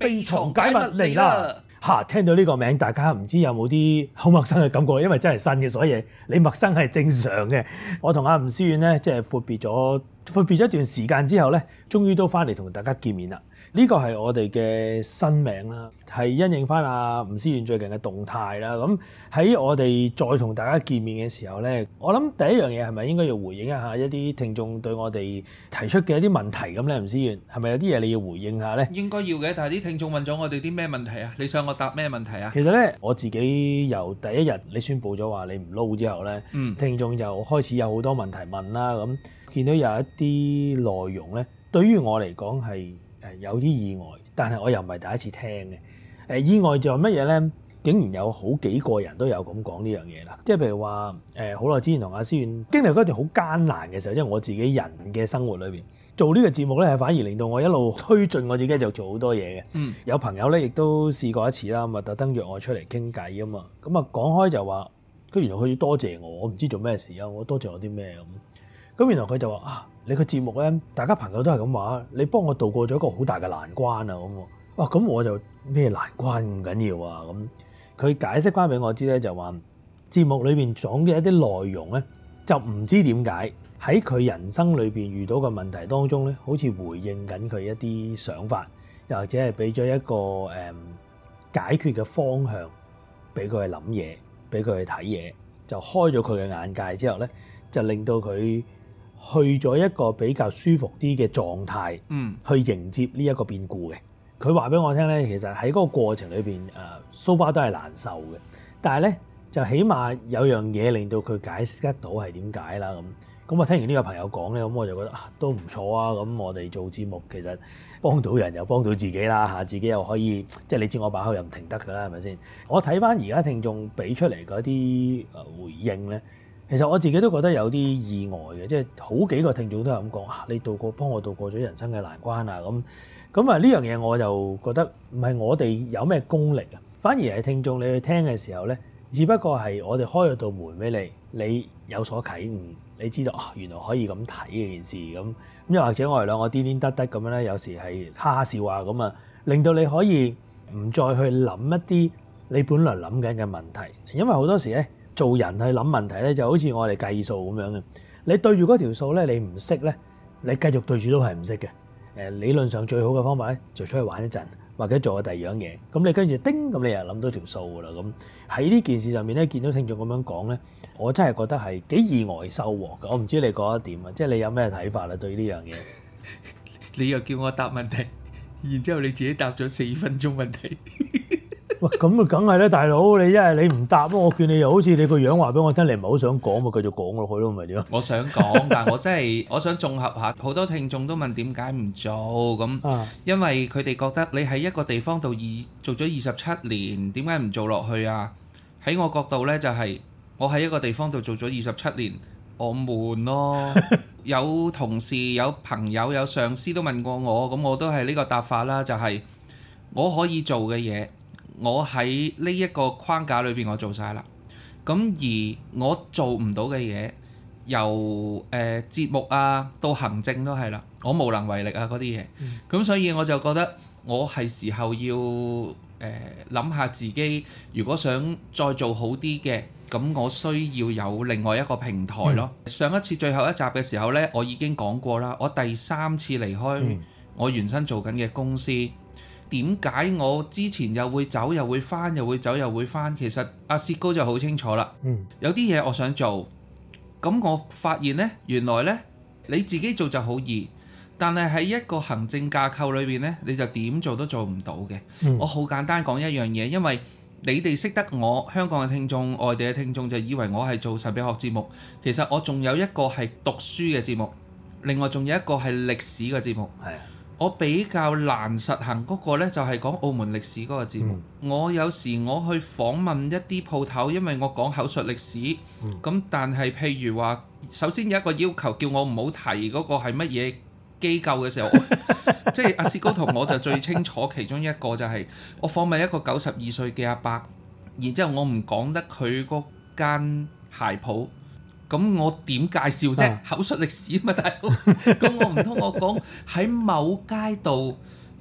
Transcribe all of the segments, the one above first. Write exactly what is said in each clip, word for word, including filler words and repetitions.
秘藏解密嚟啦！嚇，聽到呢個名，大家唔知有冇啲好陌生嘅感覺？因為真係新嘅，所以你陌生係正常嘅。我同阿吳思遠咧，即係闊別咗闊別咗一段時間之後咧，終於都翻嚟同大家見面啦。呢個係我哋嘅新名啦，係因應翻阿吳思遠最近嘅動態啦。咁喺我哋再同大家見面嘅時候咧，我諗第一樣嘢係咪應該要回應一下一啲聽眾對我哋提出嘅一啲問題咁咧？吳思遠係咪有啲嘢你要回應下咧？ 應該要嘅，但係啲聽眾問咗我哋啲咩問題啊？你想我答咩問題啊？ 其實咧，我自己由第一日你宣佈咗話你唔撈之後咧，嗯、聽眾就開始有好多問題問啦。咁見到有一啲內容咧，對於我嚟講係誒有啲意外，但係我又唔係第一次聽嘅。誒意外就係乜嘢咧？竟然有好幾個人都有咁講呢樣嘢啦。即係譬如話誒，好耐之前同阿思遠經歷嗰段好艱難嘅時候，即係我自己人嘅生活裏邊做呢個節目咧，係反而令到我一路推進我自己就做好多嘢嘅。嗯、有朋友咧亦都試過一次啦，咁啊特登約我出嚟傾偈啊嘛。咁啊講開就話，佢原來佢要多謝我，我唔知做咩事啊。我多謝我啲咩咁？咁原來佢就話啊，你個節目咧，大家朋友都係咁話，你幫我渡過咗一個好大嘅難關啊咁。哇！咁我就咩難關咁緊要啊咁？佢解釋翻俾我知咧，就話節目裏邊講嘅一啲內容咧，就唔知點解喺佢人生裏邊遇到嘅問題當中咧，好似回應緊佢一啲想法，又或者係俾咗一個誒、嗯、解決嘅方向俾佢去諗嘢，俾佢去睇嘢，就開咗佢嘅眼界之後咧，就令到佢去咗一個比較舒服啲嘅狀態，嗯，去迎接呢一個變故嘅。佢話俾我聽咧，其實喺嗰個過程裏邊，誒 so far 都係難受嘅。但係咧，就起碼有樣嘢令到佢解釋得到係點解啦。咁咁我聽完呢個朋友講咧，咁我就覺得啊，都唔錯啊。咁我哋做節目其實幫到人又幫到自己啦嚇，自己又可以即係你知我把口又唔停得㗎啦，係咪先？我睇翻而家聽眾俾出嚟嗰啲誒回應咧，其實我自己都覺得有啲意外嘅，即係好幾個聽眾都係咁講啊，你渡過幫我渡過咗人生嘅難關啊咁。咁啊呢樣嘢我就覺得唔係我哋有咩功力啊，反而係聽眾你去聽嘅時候咧，只不過係我哋開咗道門俾你，你有所啟悟，你知道啊原來可以咁睇嘅件事咁。咁又或者我哋兩個癲癲得得咁樣咧，有時係哈哈笑啊咁啊，令到你可以唔再去諗一啲你本來諗緊嘅問題，因為好多時咧做人去諗問題咧就好似我哋計數咁樣嘅，你對住嗰條數咧你唔識咧，你繼續對住都係唔識嘅。誒理論上最好嘅方法咧，就出去玩一陣，或者做下第二樣嘢。咁你跟住叮，咁你又諗到條數㗎啦。咁喺呢件事上面咧，見到聽眾咁樣講咧，我真係覺得係幾意外收穫㗎。我唔知你覺得點啊？即係你有咩睇法啦？對呢樣嘢， 你又叫我答問題，然之後你自己答咗四分鐘問題。 喂，咁啊，梗係啦，大佬，你一係你唔答，我見你又好似你個樣話俾我聽，你唔係好想講，咪繼續講落去咯，咪點啊？ 我想講，但係我真係我想綜合下，好多聽眾都問點解唔做咁，因為佢哋覺得你喺一個地方度二做咗二十七年，點解唔做落去啊？喺我角度呢，就係我喺一個地方度做咗二十七年，我悶咯。有同事、有朋友、有上司都問過我，咁我都係呢個答法啦，就係我可以做嘅嘢。我喺呢一個框架裏邊，我做晒啦。咁而我做唔到嘅嘢，由誒、呃、節目啊到行政都係啦，我無能為力啊嗰啲嘢。咁、嗯、所以我就覺得我係時候要誒諗、呃、下自己，如果想再做好啲嘅，咁我需要有另外一個平台咯。嗯、上一次最後一集嘅時候呢，我已經講過啦，我第三次離開我原身做緊嘅公司。點解我之前又會走又會返，又會走又會返？其實阿薛高就好清楚啦。嗯、有啲嘢我想做，咁我發現呢，原來呢，你自己做就好易，但係喺一個行政架構裏邊呢，你就點做都做唔到嘅。嗯、我好簡單講一樣嘢，因為你哋識得我，香港嘅聽眾、外地嘅聽眾就以為我係做神秘學節目，其實我仲有一個係讀書嘅節目，另外仲有一個係歷史嘅節目。係。我比較難實行嗰個呢，就係講澳門歷史嗰個節目。嗯、我有時我去訪問一啲鋪頭，因為我講口述歷史。咁、嗯、但係譬如話，首先有一個要求，叫我唔好提嗰個係乜嘢機構嘅時候，即係阿薛高同我就最清楚其中一個就係我訪問一個九十二歲嘅阿伯，然之後我唔講得佢嗰間鞋鋪。咁我點介紹啫？口述歷史啊嘛，大佬。咁我唔通我講喺某街道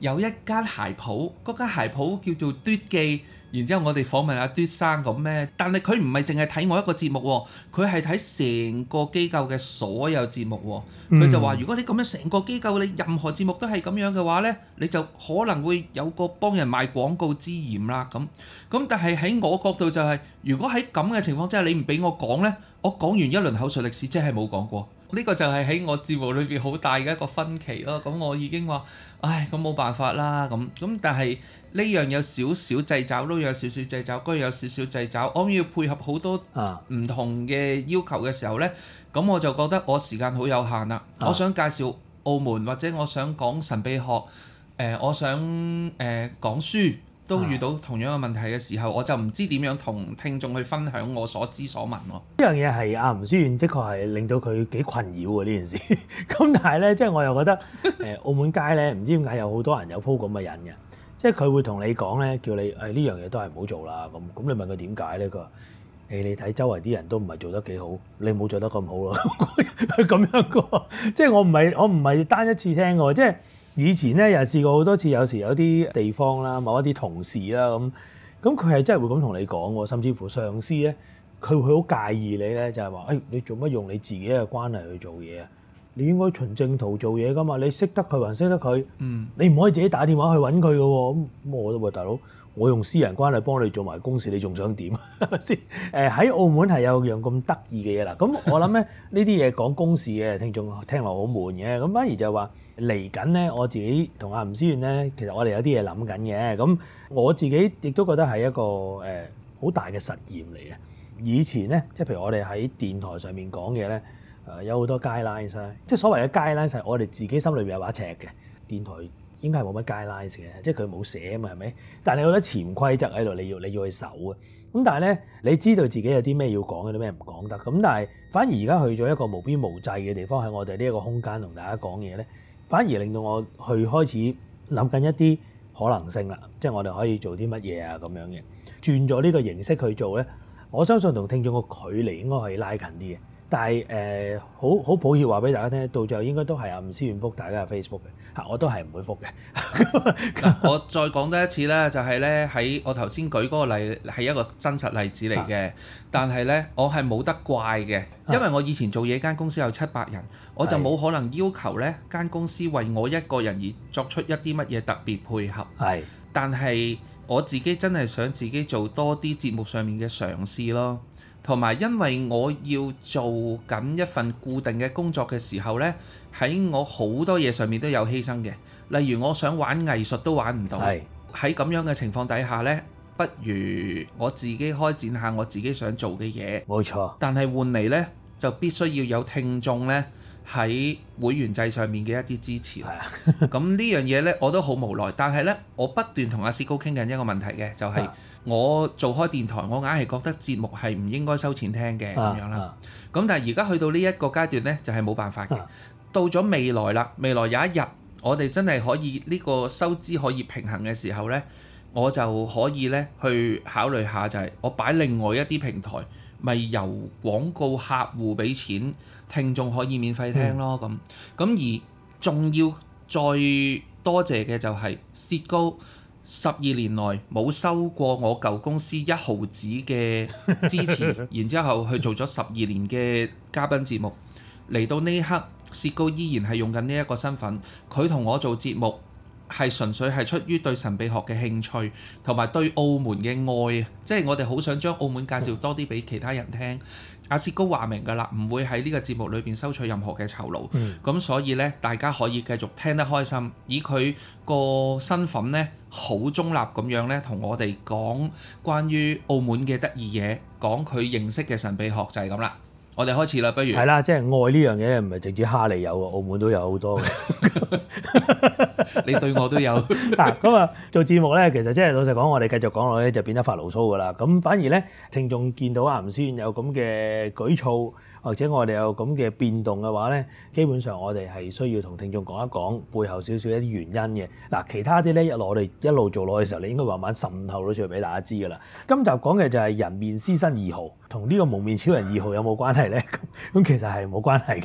有一間鞋鋪，嗰間鞋鋪叫做嘟記。然之後我哋訪問阿嘟生咁咩？但係佢唔係淨係睇我一個節目喎，佢係睇成個機構嘅所有節目喎。佢就話：如果你咁樣成個機構你任何節目都係咁樣嘅話呢，你就可能會有個幫人賣廣告之嫌啦。咁咁但係喺我角度就係、是，如果喺咁嘅情況之下，你唔俾我講呢，我講完一輪口述歷史，即係冇講過。呢個就係喺我節目裏邊好大嘅一個分歧咯。咁我已經話，唉，咁冇辦法啦。咁咁，但係呢樣有少少掣肘，都有少少掣肘，嗰樣有少少掣肘。我要配合好多唔同嘅要求嘅時候呢，咁、啊、我就覺得我時間好有限啦。啊、我想介紹澳門，或者我想講神秘學，誒、呃，我想誒、呃、講書。都遇到同樣嘅問題嘅時候，我就唔知點樣同聽眾去分享我所知所聞咯。 呢樣嘢係阿吳思遠，的確係令到佢幾困擾喎呢件事。咁但係咧，即係我又覺得誒澳門街咧，唔知點解有好多人有鋪咁嘅人嘅，即係佢會同你講咧，叫你誒呢樣嘢都係唔好做啦。咁咁你問佢點解咧？佢話誒你睇周圍啲人都唔係做得幾好，你冇做得咁好咯。佢咁樣講，即係我唔係我唔係單一次聽嘅，即係。以前咧又試過好多次，有時有啲地方啦，某一啲同事啦咁，咁佢係真係會咁同你講喎，甚至乎上司咧，佢會好介意你咧，就係話，誒你做乜用你自己嘅關係去做嘢啊？你應該循正途做嘢噶嘛，你識得佢還識得佢，嗯、你唔可以自己打電話去揾佢嘅喎。咁我都話大佬，我用私人關係幫你做埋公事，你仲想點？係咪先？誒喺澳門係有樣咁得意嘅嘢啦。咁我諗咧呢啲嘢講公事嘅聽眾聽落好悶嘅，咁反而就話嚟緊咧，我自己同阿吳思遠咧，其實我哋有啲嘢諗緊嘅。咁我自己亦都覺得係一個誒好大嘅實驗嚟嘅。以前咧，即係譬如我哋喺電台上面講嘢咧。誒有好多 guidelines 啦，即係所謂嘅 guidelines 係我哋自己心裏邊有把尺嘅。電台應該係冇乜 guidelines 嘅，即係佢冇寫啊嘛，係咪？但係你有好多潛規則喺度，你要你要去守啊。咁但係咧，你知道自己有啲咩要講，有啲咩唔講得。咁但係反而而家去咗一個無邊無際嘅地方，喺我哋呢一個空間同大家講嘢咧，反而令到我去開始諗緊一啲可能性啦。即係我哋可以做啲乜嘢啊咁樣嘅，轉咗呢個形式去做咧，我相信同聽眾個距離應該可以拉近啲嘅。但係誒好好抱歉話俾大家聽，到最後應該都係阿吳思遠覆大家嘅 Facebook 嘅嚇，我都係唔會覆嘅。 我再講多一次啦，就係咧喺我頭先舉嗰個例係一個真實例子嚟嘅，啊、但係咧我係冇得怪嘅，因為我以前做嘢間公司有七百人，我就冇可能要求咧間公司為我一個人而作出一啲乜嘢特別配合。係，但係我自己真係想自己做多啲節目上面嘅嘗試咯。同埋，因為我要做緊一份固定嘅工作嘅時候呢，喺我好多嘢上面都有犧牲嘅。例如，我想玩藝術都玩唔到。喺咁樣嘅情況底下呢，不如我自己開展下我自己想做嘅嘢。冇錯。但係換嚟呢，就必須要有聽眾呢喺會員制上面嘅一啲支持。咁呢樣嘢呢，我都好無奈。但係呢，我不斷同阿薛高傾緊一個問題嘅，就係、是。我做開電台，我硬係覺得節目係唔應該收錢聽嘅咁、啊、樣啦。咁、啊、但係而家去到呢一個階段呢，就係、是、冇辦法嘅。啊、到咗未來啦，未來有一日我哋真係可以呢個收支可以平衡嘅時候呢，我就可以呢去考慮下，就係我擺另外一啲平台，咪由廣告客戶俾錢，聽眾可以免費聽咯。咁咁、嗯、而仲要再多謝嘅就係薛高。十二年內冇收過我舊公司一毫子嘅支持，然之後去做咗十二年嘅嘉賓節目，嚟到呢一刻，薛高依然係用緊呢一個身份，佢同我做節目係純粹係出於對神秘學嘅興趣，同埋對澳門嘅愛，即係我哋好想將澳門介紹多啲俾其他人聽。阿薛高話明㗎啦，唔會喺呢個節目裏邊收取任何嘅酬勞，咁、嗯、所以呢，大家可以繼續聽得開心。以佢個身份呢，好中立咁樣呢，同我哋講關於澳門嘅得意嘢，講佢認識嘅神秘學就係咁啦。我哋開始啦，不如係啦，即係愛呢樣嘢唔係直接哈利有喎，澳門都有好多嘅。 你對我都有嗱，咁啊做節目咧，其實即係老實講，我哋繼續講落咧就變得發牢騷噶啦。咁反而咧，聽眾見到阿吳思遠有咁嘅舉措，或者我哋有咁嘅變動嘅話咧，基本上我哋係需要同聽眾講一講背後少少一啲原因嘅。嗱，其他啲咧一路我哋一路做落去嘅時候，你應該慢慢滲透咗出嚟俾大家知噶啦。今集講嘅就係人面獅身二號，同呢個蒙面超人二號有冇關係咧？咁咁其實係冇關係嘅。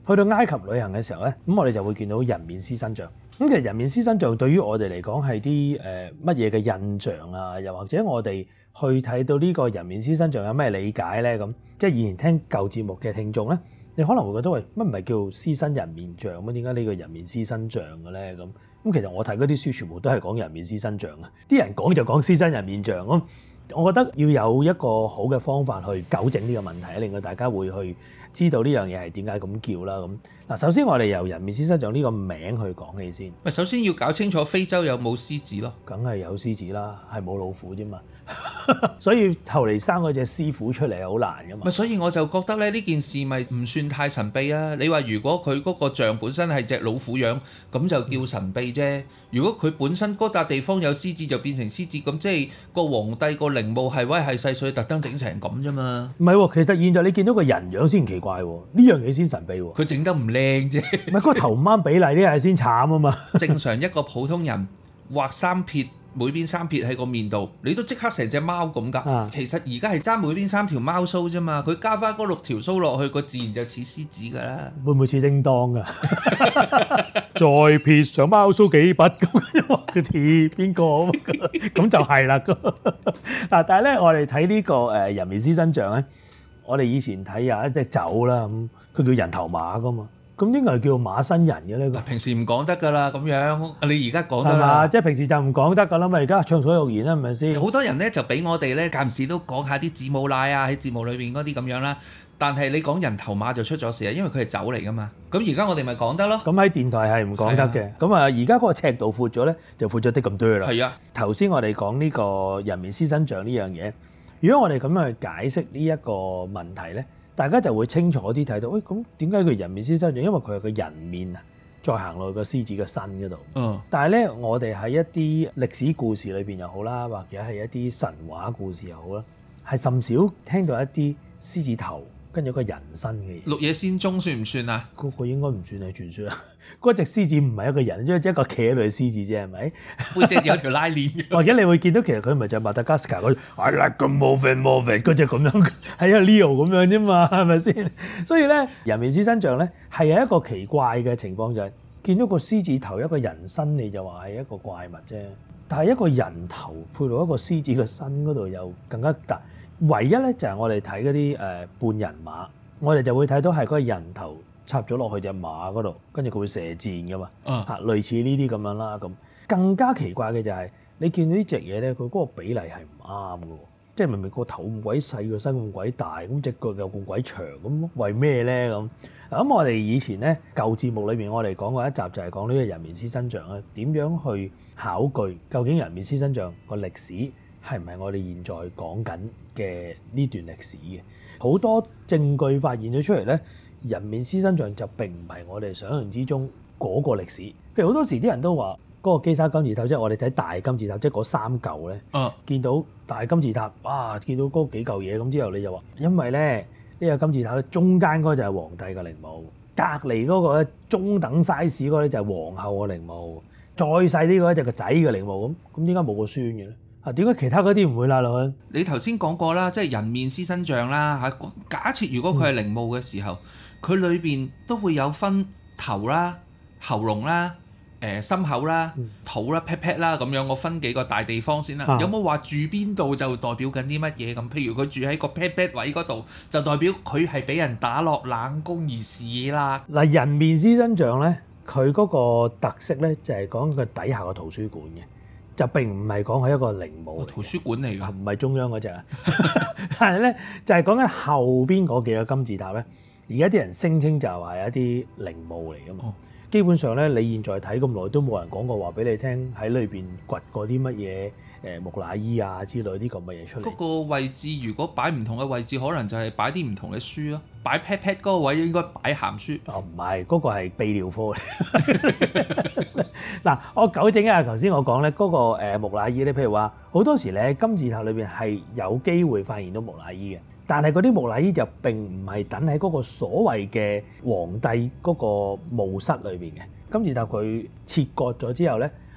去到埃及旅行嘅時候咧，咁我哋就會見到人面獅身像。咁其實人面獅身像對於我哋嚟講係啲誒乜嘢嘅印象啊？又或者我哋去睇到呢個人面獅身像有咩理解咧？咁即係以前聽舊節目嘅聽眾咧，你可能會覺得喂，乜唔係叫獅身人面像乜？點解呢個人面獅身像嘅咧？咁咁其實我睇嗰啲書全部都係講人面獅身像啊！啲人講就講獅身人面像咁。我覺得要有一個好嘅方法去糾正呢個問題，令到大家會去知道呢樣嘢係點解咁叫啦。咁嗱，首先我哋由人面獅身像呢個名去講起先。 喂，首先要搞清楚非洲有冇獅子咯。 梗係有獅子啦，係冇老虎啫嘛。所以後嚟生嗰隻獅虎出嚟係好難噶嘛。 咪所以我就覺得咧，呢件事咪唔算太神秘啊。你話如果佢嗰個像本身係隻老虎樣，咁就叫神秘啫。如果佢本身嗰笪地方有獅子，就變成獅子，咁即係個皇帝個陵墓係威係細碎，特登整成咁啫嘛。 唔係喎，其實現在你見到個人樣先奇怪喎，呢樣嘢先神秘喎。 佢整得唔靚啫。 唔係嗰個頭唔啱比例呢係先慘啊嘛。 正常一個普通人畫三撇。每邊三撇喺個面度，你都即刻成隻貓咁㗎。啊、其實而家係爭每邊三條貓須啫嘛，佢加翻嗰六條須落去，個自然就似獅子㗎啦。 會唔會似叮當㗎？再撇上貓須幾筆咁，佢似邊個咁就係啦。嗱，但係咧，我哋睇呢個誒人面獅身像咧，我哋以前睇有一隻酒啦，咁佢叫人頭馬㗎嘛。咁應該係叫馬身人嘅咧。 平時唔講得㗎啦，咁樣你而家講得啦。 即係平時就唔講得㗎啦嘛，而家暢所欲言啦，係咪先？ 好多人咧就俾我哋咧間唔時都講下啲字母奶啊，喺節目裏邊嗰啲咁樣啦。但係你講人頭馬就出咗事啊，因為佢係酒嚟㗎嘛。咁而家我哋咪講得咯。 咁喺電台係唔講得嘅。咁啊，而家嗰個尺度闊咗咧，就闊咗啲咁多啦。 係啊。頭先我哋講呢個人面獅身像呢樣嘢，如果我哋咁樣去解釋呢一個問題咧，大家就會清楚啲睇到，喂，咁點解佢人面獅身像？因為佢係個人面啊，再行落個獅子嘅身嗰度。嗯。但係咧，我哋喺一啲歷史故事裏邊又好啦，或者係一啲神話故事又好啦，係甚少聽到一啲獅子頭跟住個人身嘅嘢。 綠野仙蹤算唔算啊？ 嗰個應該唔算係傳說啊。嗰隻獅子唔係一個人，即係一個企喺度嘅獅子啫，係咪？ 背脊有條拉鏈。 或者你會見到其實佢唔係就係馬達加斯加嗰隻 I like to move it move it 嗰隻咁樣，係啊 Leo 咁樣啫嘛，係咪先？所以咧，人面獅身像咧係有一個奇怪嘅情況，就係見到個獅子頭一個人身，你就話係一個怪物啫。但係一個人頭配到一個獅子嘅身嗰度又更加大。唯一咧就係我哋睇嗰啲誒半人馬，我哋就會睇到係嗰個人頭插咗落去隻馬嗰度，跟住佢會射箭噶嘛，嚇、uh. 類似呢啲咁樣啦。咁更加奇怪嘅就係、是、你見到呢隻嘢咧，佢嗰個比例係唔啱嘅喎，即係明明個頭咁鬼細，個身咁鬼大，咁隻腳又咁鬼長，咁為咩咧咁？咁我哋以前咧舊節目裏邊，我哋講過一集就係講呢個人面獅身像咧，點樣去考據究竟人面獅身像個歷史係唔係我哋現在講緊嘅呢段歷史嘅？好多證據發現咗出嚟咧，人面獅身像就並唔係我哋想象之中嗰個歷史。譬如好多時啲人都話嗰個基沙金字塔，即係我哋睇大金字塔，即係嗰三嚿咧，啊、見到大金字塔，哇！見到嗰幾嚿嘢咁之後，你就話因為咧呢、呢個金字塔咧中間嗰個就係皇帝嘅陵墓，隔離嗰個咧中等 size 嗰個咧就係皇后嘅陵墓，再細啲嗰個就係個仔嘅陵墓。咁咁點解冇個孫嘅咧？啊，點解其他嗰啲唔會拉落去？ 你頭先講過啦，即係人面獅身像啦嚇。假設如果佢係陵墓嘅時候，佢裏邊都會有分頭啦、喉嚨啦、誒心口啦、肚啦、pat pat 啦咁樣，我分幾個大地方先啦。啊、有冇話住邊度就代表緊啲乜嘢咁？譬如佢住喺個 pat pat 位嗰度，就代表佢係俾人打落冷宮而死啦。 嗱，人面獅身像咧，佢嗰個特色咧就係講佢底下個圖書館嘅。就並唔係講係一個陵墓， 圖書館嚟㗎， 唔係中央嗰隻啊。但係咧就係講緊後邊嗰幾個金字塔咧，而家啲人聲稱就係一啲陵墓嚟㗎嘛。哦、基本上咧，你現在睇咁耐都冇人講過話俾你聽喺裏邊掘過啲乜嘢誒木乃伊啊之類啲咁嘅嘢出嚟。 嗰個位置如果擺唔同嘅位置，可能就係擺啲唔同嘅書咯。擺 pat pat 嗰個位應該擺鹹書。哦，唔係，嗰個係泌尿科嚟。嗱，我糾正一下頭先我講咧，嗰個誒木乃伊咧，譬如話好多時咧金字塔裏邊係有機會發現到木乃伊嘅，但係嗰啲木乃伊就並唔係等喺嗰個所謂嘅皇帝嗰個墓室裏邊嘅。金字塔佢切割咗之後咧，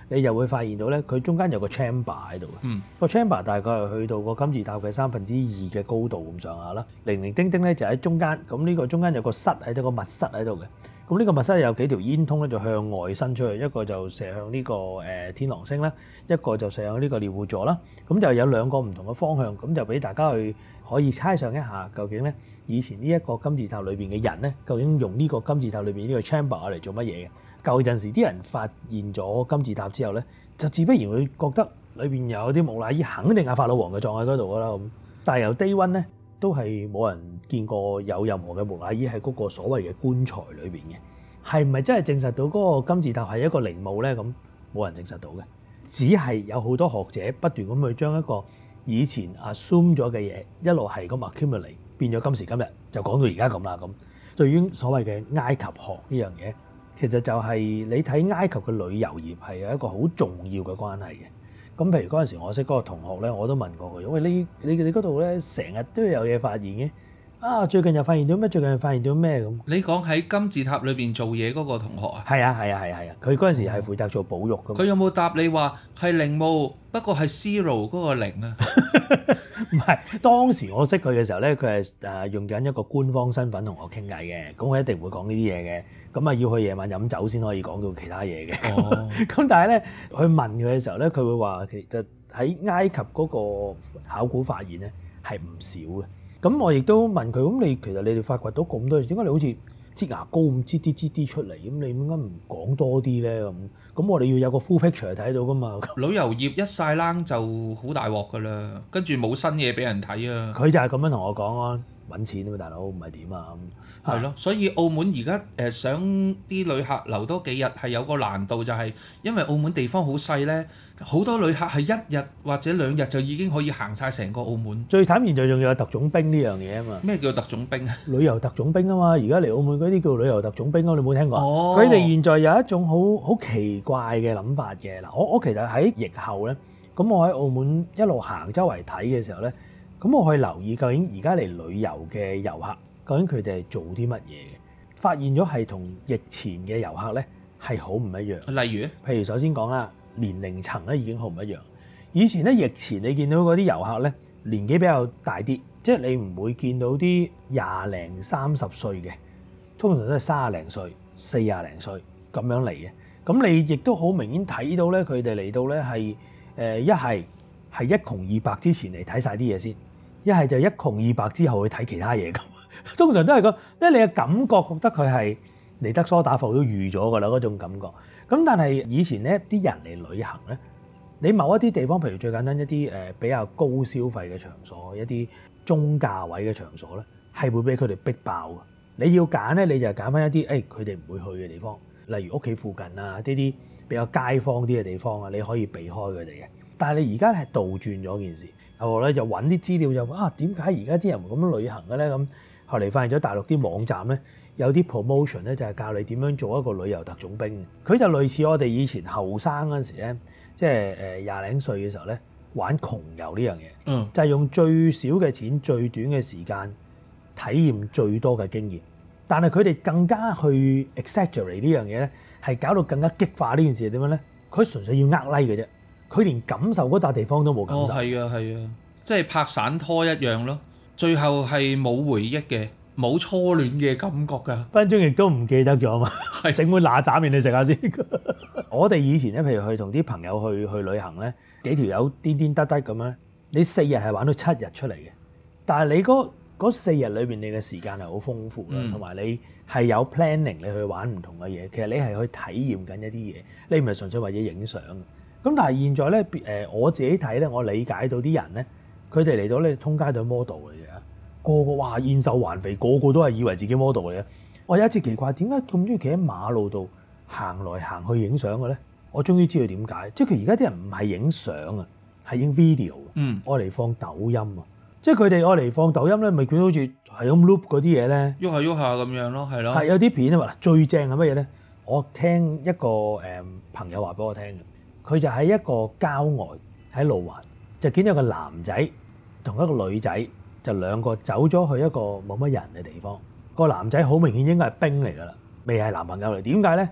你就會發現到咧，佢中間有個 chamber 喺度嘅。 嗯。 個 chamber 大概係去到個金字塔嘅三分之二嘅高度咁上下啦。零零丁丁咧就喺中間，咁呢個中間有個室喺度，個密室喺度嘅。咁呢個密室有幾條煙通咧，就向外伸出去，一個就射向呢個誒天狼星啦，一個就射向呢個獵戶座啦。咁就有兩個唔同嘅方向，咁就俾大家去可以猜想一下，究竟咧以前呢一個金字塔裏邊嘅人咧，究竟用呢個金字塔裏邊呢個 chamber 嚟做乜嘢嘅？舊陣時啲人發現咗金字塔之後咧，就自不然會覺得裏邊有啲木乃伊，肯定係法老王嘅葬喺嗰度噶啦咁。但係由 day one 咧，都係冇人見過有任何嘅木乃伊喺嗰個所謂嘅棺材裏邊嘅。係咪真係證實到嗰個金字塔係一個陵墓咧？咁冇人證實到嘅，只係有好多學者不斷咁去將一個以前 assume 咗嘅嘢一路係咁 accumulate 變咗今時今日就講到而家咁啦咁。對於所謂嘅埃及學呢樣嘢，其實就係你睇埃及嘅旅遊業係有一個好重要嘅關係嘅。咁譬如嗰陣時我識嗰個同學咧，我都問過佢：喂，你你你嗰度咧成日都有嘢發現嘅？啊，最近又發現到咩？最近又發現到咩咁？ 你講喺金字塔裏邊做嘢嗰個同學啊？ 係啊係啊係啊係啊！佢嗰陣時係負責做保育㗎嘛。 佢有冇答你話係陵墓？不過係 zero 嗰個零啊？ 唔係，當時我識佢嘅時候咧，佢係誒用緊一個官方身份同我傾偈嘅，咁我一定會講呢啲嘢嘅。咁啊要去夜晚飲酒先可以講到其他嘢嘅。咁、哦、但係咧，去問佢嘅時候咧，佢會話其實喺埃及嗰個考古發現咧係唔少嘅。咁我亦都問佢，咁你其實你哋發掘到咁多嘢，點解你好似擠牙膏咁擠啲擠啲出嚟？咁你點解唔講多啲咧？咁咁我哋要有個 full picture 睇到噶嘛？ 旅遊業一晒冷就好大鑊噶啦，跟住冇新嘢俾人睇啊！ 佢就係咁樣同我講啊，揾錢啊嘛，大佬唔係點啊？ 係咯，所以澳門而家誒想啲旅客留多幾日係有個難度，就係因為澳門地方好細咧，好多旅客係一日或者兩日就已經可以行晒成個澳門。最慘現在仲有特種兵呢樣嘢啊嘛！ 咩叫特種兵啊？ 旅遊特種兵啊嘛！而家嚟澳門嗰啲叫旅遊特種兵啊，你冇聽過？哦，佢哋現在有一種好好奇怪嘅諗法嘅嗱，我我其實喺疫後咧，咁我喺澳門一路行周圍睇嘅時候咧，咁我去留意究竟而家嚟旅遊嘅遊客。究竟佢哋係做啲乜嘢嘅？發現咗係同疫前嘅遊客咧係好唔一樣。 例如， 譬如首先講啦，年齡層咧已經好唔一樣。以前咧疫前你見到嗰啲遊客咧年紀比較大啲，即係你唔會見到啲廿零三十歲嘅，通常都係三廿零歲、四廿零歲咁樣嚟嘅。咁你亦都好明顯睇到咧，佢哋嚟到咧係誒一係係一窮二白之前嚟睇晒啲嘢先。一係就一窮二白之後去睇其他嘢咁，通常都係咁，因為你嘅感覺覺得佢係嚟得梳打埠都預咗㗎啦嗰種感覺。咁但係以前咧啲人嚟旅行咧，你某一啲地方，譬如最簡單一啲誒比較高消費嘅場所，一啲中價位嘅場所咧，係會俾佢哋逼爆㗎。你要揀咧，你就揀翻一啲誒佢哋唔會去嘅地方，例如屋企附近啊，呢啲比較街坊啲嘅地方啊，你可以避開佢哋嘅。但係你而家係倒轉咗件事。後來咧就揾啲資料就話啊，點解而家啲人咁樣旅行嘅咧？咁後嚟發現咗大陸啲網站咧有啲 promotion 咧就係教你點樣做一個旅遊特種兵。佢就類似我哋以前後生嗰陣時咧，即係誒廿零歲嘅時候咧玩窮遊呢樣嘢，嗯，就係用最少嘅錢、最短嘅時間體驗最多嘅經驗。但係佢哋更加去 exaggerate 呢樣嘢咧，係搞到更加激化呢件事係點樣咧？佢純粹要呃 like 嘅啫。佢連感受嗰笪地方都冇感受。哦，係啊，係啊，即係拍散拖一樣咯。最後係冇回憶嘅，冇初戀嘅感覺㗎。分鐘亦都唔記得咗嘛。係整碗乸斬麵你食下先。我哋以前咧，譬如去同啲朋友去去旅行咧，幾條友顛顛得得咁樣，你四日係玩到七日出嚟嘅。但係你嗰嗰四日裏邊，你嘅時間係好豐富啦，同埋、嗯、你係有 planning 你去玩唔同嘅嘢。其實你係去體驗緊一啲嘢，你唔係純粹為咗影相。咁但係現在咧，誒我自己睇咧，我理解到啲人咧，佢哋嚟到咧通街對 model 嚟嘅，個個哇燕瘦環肥，個個都係以為自己 model 嚟嘅。我有一次奇怪，點解咁中意企喺馬路度行來行去影相嘅咧？我終於知道點解，即係佢而家啲人唔係影相啊，係影 video，嗯，愛嚟放抖音啊，即係佢哋愛嚟放抖音咧，咪見到好似係咁 loop 嗰啲嘢咧，喐下喐下咁樣咯，係咯，係有啲片啊嘛，最正係乜嘢咧？我聽一個誒朋友話俾我聽嘅。佢就喺一個郊外喺路環，就見到個男仔同一個女仔，就兩個走咗去一個冇乜人嘅地方。個男仔好明顯應該係兵嚟㗎啦，未係男朋友嚟。點解咧？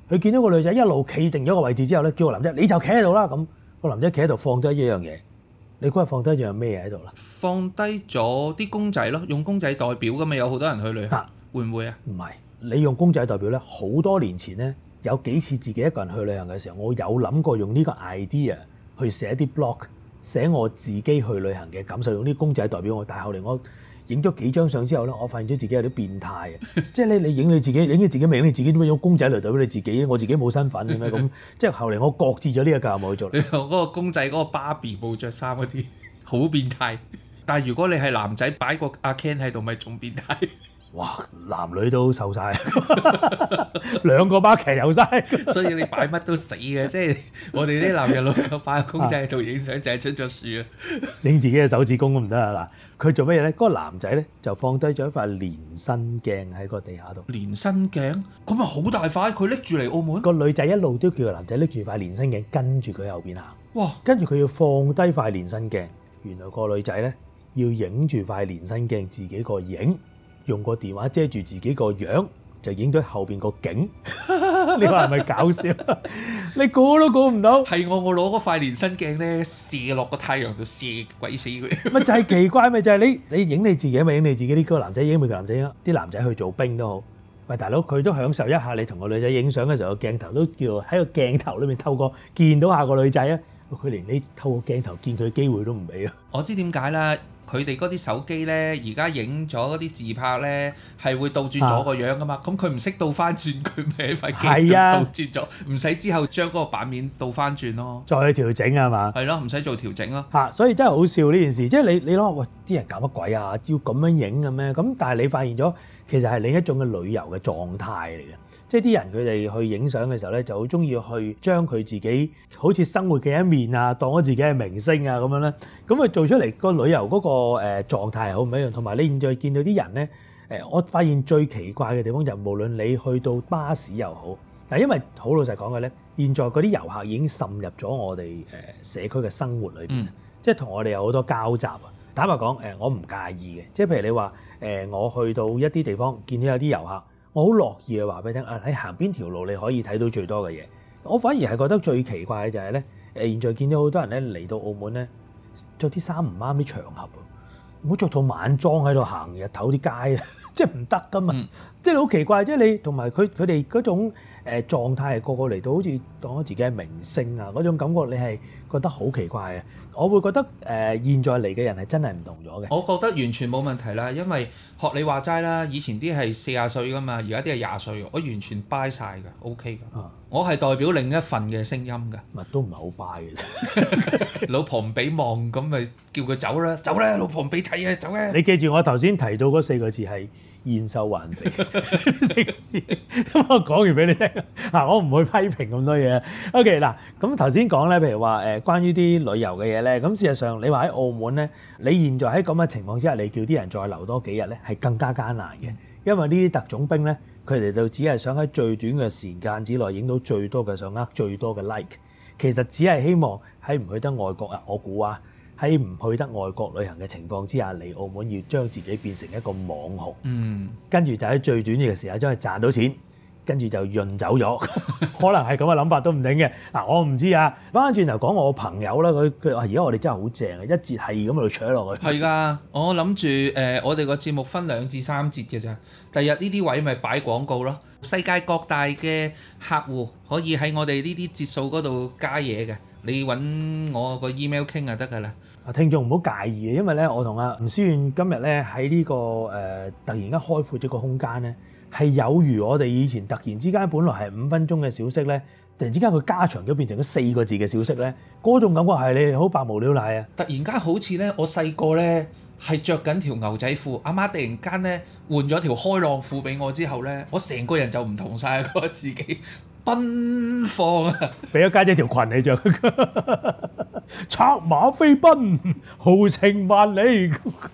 佢見到個女仔一路企定咗個位置之後咧，叫個男仔你就企喺度啦。咁個男仔企喺度放低一樣嘢，你估係放低一樣咩嘢喺度啦？ 放低咗啲公仔咯，用公仔代表噶嘛，有好多人去旅行，啊、會唔會啊？ 唔係，你用公仔代表咧，好多年前咧有幾次自己一個人去旅行嘅時候，我有諗過用呢個 idea 去寫啲 blog，寫我自己去旅行嘅感受，用啲公仔代表我。但係後嚟我影咗幾張相之後咧，我發現咗自己有啲變態嘅，即係咧你影你自己，影你自己咪影你自己，點解用公仔嚟代表你自己？我自己冇身份嘅咩？咁即係後嚟我擱置咗呢個教務去做。 你用嗰個公仔嗰個芭比冇着衫嗰啲，好變態。但係如果你係男仔擺個阿 Ken 喺度，咪仲變態。 哇！男女都瘦晒，兩個巴騎有晒， 所以你擺乜都死嘅，即係我哋啲男人老狗擺個公仔喺度影相，就係出咗事啊！ 影自己嘅手指公都唔得啊！嗱，佢做乜嘢咧？嗰、嗰個男仔咧就放低咗一塊連身鏡喺個地下度。 連身鏡咁咪好大塊，佢拎住嚟澳門。 個女仔一路都叫個男仔拎住塊連身鏡跟住佢後邊行。 哇！ 跟住佢要放低塊連身鏡，原來個女仔咧要影住塊連身鏡自己個影。用個電話遮住自己個樣，就影咗後邊個景。你話係咪搞笑？你估都估唔到。 係我我攞嗰塊連身鏡咧射落個太陽度射鬼死佢。 咪就係奇怪咪就係、是、你你影你自己咪影你自己，呢個男仔影咪個男仔影，啲男仔去做兵都好。喂大佬，佢都享受一下你同個女仔影相嘅時候，個鏡頭都叫喺個鏡頭裏面透過見到下個女仔啊！佢連你透過鏡頭見佢嘅機會都唔俾啊！ 我知點解啦。佢哋嗰啲手機咧，而家影咗嗰啲自拍咧，係會倒轉咗個樣噶嘛。咁佢唔識倒翻轉，佢咪喺塊鏡度倒轉咗，唔使、啊、之後將嗰個版面倒翻轉咯。再去調整係嘛？ 係咯，唔使做調整咯。 嚇，所以真係好笑呢件事。即係你你諗下，喂，啲人搞乜鬼啊？要咁樣影嘅咩？咁但係你發現咗，其實係另一種嘅旅遊嘅狀態嚟嘅。即係啲人佢哋去影相嘅時候咧，就好中意去將佢自己好似生活嘅一面啊，當咗自己係明星啊咁樣咧。咁佢做出嚟個旅遊嗰個誒狀態係好唔一樣。同埋你現在見到啲人咧，誒，我發現最奇怪嘅地方就無論你去到巴士又好，但係因為好老實講嘅咧，現在嗰啲遊客已經滲入咗我哋誒社區嘅生活裏邊，嗯、即係同我哋有好多交集啊。坦白講，誒，我唔介意嘅。即係譬如你話誒，我去到一啲地方見到有啲遊客。我好樂意去話俾你聽，啊，你行邊條路你可以睇到最多嘅嘢。我反而係覺得最奇怪嘅就係咧，誒，現在見到好多人咧嚟到澳門咧，着啲衫唔啱啲場合，唔好着套晚裝喺度行日頭啲街，即係唔得噶嘛。嗯、即係好奇怪，即係你同埋佢佢哋嗰種誒狀態係個個嚟到好似當咗自己係明星啊嗰種感覺，你係覺得好奇怪嘅。我會覺得誒、呃、現在嚟嘅人係真係唔同咗嘅。 我覺得完全冇問題啦，因為學你話齋啦，以前啲係四十歲噶嘛，而家啲係廿歲，我完全 buy 晒㗎 OK 㗎。啊、我係代表另一份嘅聲音㗎。 咪都唔係好 buy 嘅啫。 老婆唔俾望，咁咪叫佢走啦，走啦，老婆唔俾睇啊，走啊！ 你記住我頭先提到嗰四個字係燕瘦還肥四個字，咁我講完俾你聽。嗱，我唔會批評咁多嘢。OK，嗱，咁頭先講咧，譬如話誒，關於啲旅遊嘅嘢咧，咁事實上你話喺澳門咧，你現在喺咁嘅情況之下，你叫啲人再留多幾日咧，係更加艱難嘅，因為呢啲特種兵咧，佢哋就只係想喺最短嘅時間之內影到最多嘅相，呃最多嘅 like， 其實只係希望喺唔去得外國啊，我估啊。喺唔去得外國旅行嘅情況之下嚟澳門，要將自己變成一個網紅，嗯，跟住就喺最短嘅時間將佢賺到錢，跟住就潤走咗，可能係咁嘅諗法都唔定嘅。嗱，我唔知啊。翻返轉頭講我朋友啦，佢佢話而家我哋真係好正啊，一節係咁喺度扯落去。係㗎，我諗住誒，我哋個節目分兩至三節嘅咋。第日呢啲位咪擺廣告咯，世界各大嘅客戶可以喺我哋呢啲節數嗰度加嘢嘅。你揾我個 email 傾就得㗎啦。 啊，聽眾唔好介意嘅，因為咧我同阿吳思遠今日咧喺呢個誒、呃、突然間開闊咗個空間咧，係有如我哋以前突然之間本來係五分鐘嘅小息咧，突然之間佢加長咗變成咗四個字嘅小息咧，嗰種感覺係你好百無聊賴啊！ 突然間好似咧，我細個咧係着緊條牛仔褲，阿媽突然間咧換咗條開浪褲俾我之後咧，我成個人就唔同晒，覺得自己奔放啊！ 俾咗家姐條裙你着，策馬飛奔，豪情萬里。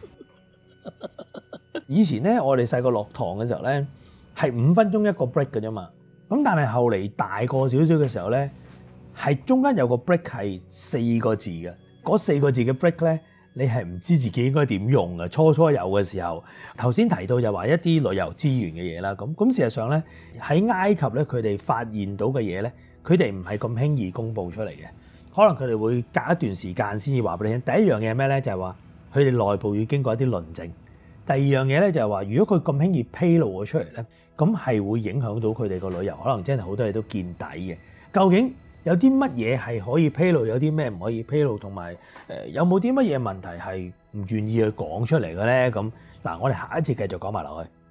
以前咧，我哋細個落堂嘅時候咧，係五分鐘一個 break 嘅啫嘛。咁但係後嚟大個少少嘅時候咧，係中間有個 break 係四個字嘅。嗰四個字嘅 break 咧， 你係唔知自己應該點用嘅。初初有嘅時候，頭先提到就話一啲旅遊資源嘅嘢啦，咁咁事實上咧喺埃及咧，佢哋發現到嘅嘢咧，佢哋唔係咁輕易公佈出嚟嘅，可能佢哋會隔一段時間先至話俾你聽。第一樣嘢係咩咧？就係話佢哋內部要經過一啲論證。第二樣嘢咧就係話，如果佢咁輕易披露咗出嚟咧，咁係會影響到佢哋個旅遊，可能真係好多嘢都見底嘅。究竟有啲乜嘢係可以披露，有啲咩唔可以披露，同埋誒有冇啲乜嘢問題係唔願意去講出嚟嘅咧？咁嗱，我哋下一節繼續講埋落去。